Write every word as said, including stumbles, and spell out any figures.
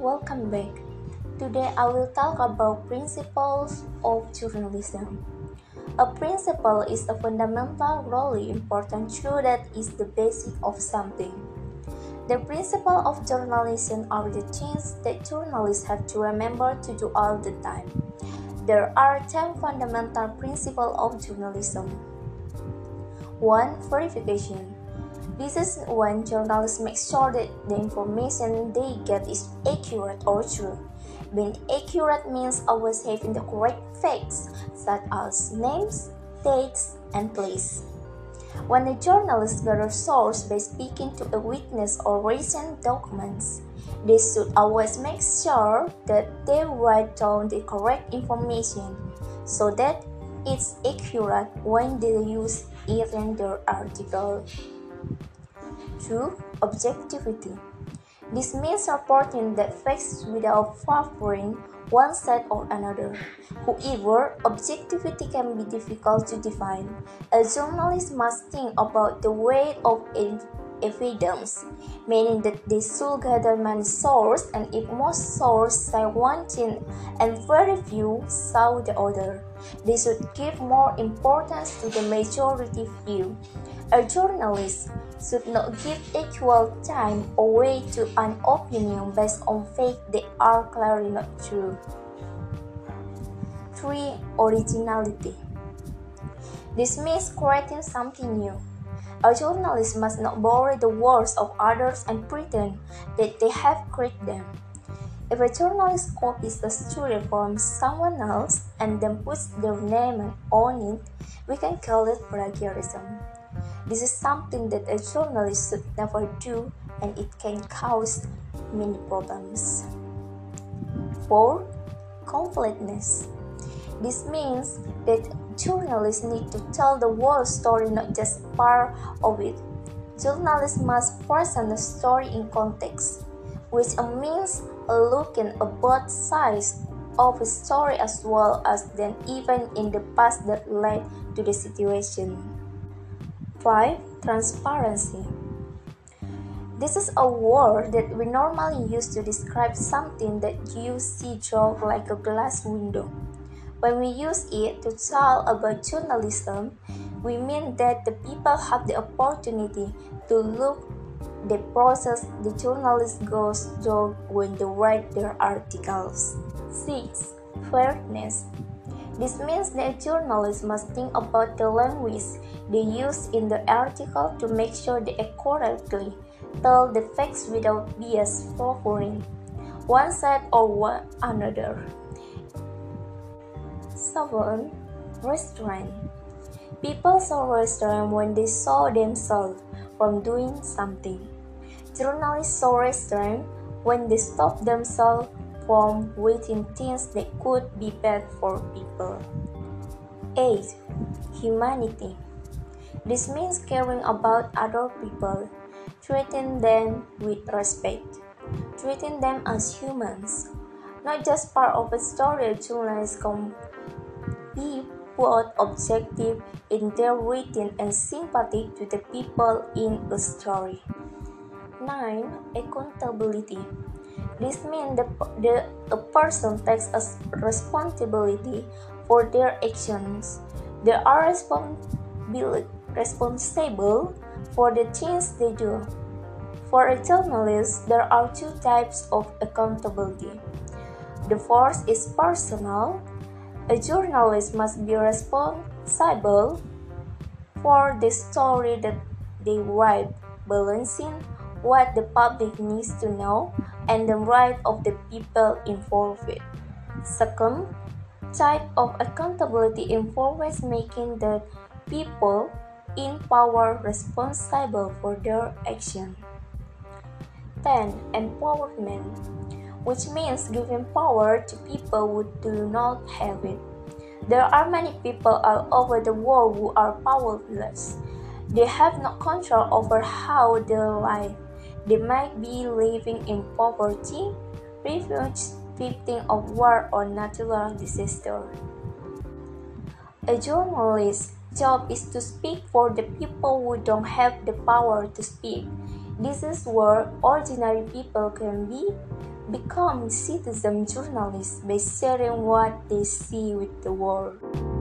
welcome back. Today I will talk about principles of journalism. A principle is a fundamental, really important truth that is the basic of something. The principles of journalism are the things that journalists have to remember to do all the time. There are ten fundamental principles of journalism. one. Verification. This is when journalists make sure that the information they get is accurate or true. Being accurate means always having the correct facts, such as names, dates, and place. When a journalist gathers source by speaking to a witness or recent documents, they should always make sure that they write down the correct information so that it's accurate when they use it in their article. two. Objectivity. This means reporting the facts without favoring one side or another. However, objectivity can be difficult to define. A journalist must think about the weight of evidence, meaning that they should gather many sources, and if most sources say one thing and very few say the other, they should give more importance to the majority view. A journalist should not give equal time or weight to an opinion based on facts that are clearly not true. three. Originality. This means creating something new. A journalist must not borrow the words of others and pretend that they have created them. If a journalist copies a story from someone else and then puts their name on it, we can call it plagiarism. This is something that a journalist should never do, and it can cause many problems. four. Completeness. This means that journalists need to tell the whole story, not just part of it. Journalists must present the story in context, which means looking at both sides of a story as well as then even in the past that led to the situation. five. Transparency. This is a word that we normally use to describe something that you see through like a glass window. When we use it to talk about journalism, we mean that the people have the opportunity to look the process the journalist goes through when they write their articles. six. Fairness. This means that journalists must think about the language they use in the article to make sure they accurately tell the facts without bias favoring one side or one another. seven. Restraint. People saw restraint when they saw themselves from doing something. Journalists saw restraint when they stopped themselves from waiting things that could be bad for people. eight. Humanity. This means caring about other people, treating them with respect, treating them as humans, not just part of a story. Journalists can be both objective in their writing and sympathetic to the people in a story. nine. Accountability. This means the, the, a person takes a responsibility for their actions. They are responsible, responsible for the things they do. For a journalist, there are two types of accountability. The first is personal. A journalist must be responsible for the story that they write, balancing what the public needs to know and the right of the people involved. Second type of accountability involves making the people in power responsible for their action. ten. Empowerment, which means giving power to people who do not have it. There are many people all over the world who are powerless. They have no control over how they live. They might be living in poverty, refuge, victim of war or natural disaster. A journalist's job is to speak for the people who don't have the power to speak. This is where ordinary people can be become citizen journalists by sharing what they see with the world.